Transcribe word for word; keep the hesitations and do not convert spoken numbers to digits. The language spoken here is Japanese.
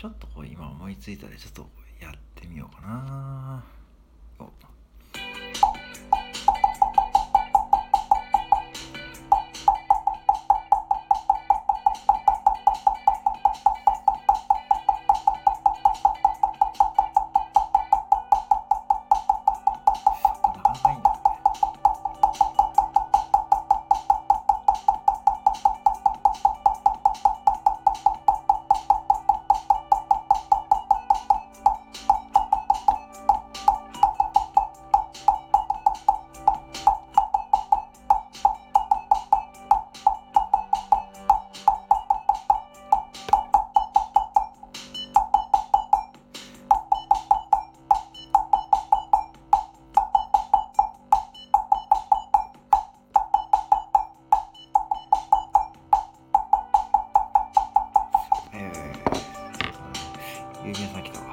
ちょっとこう今思いついたでちょっとやってみようかな。おなかなかいいんだよね。えー、郵便先だわ。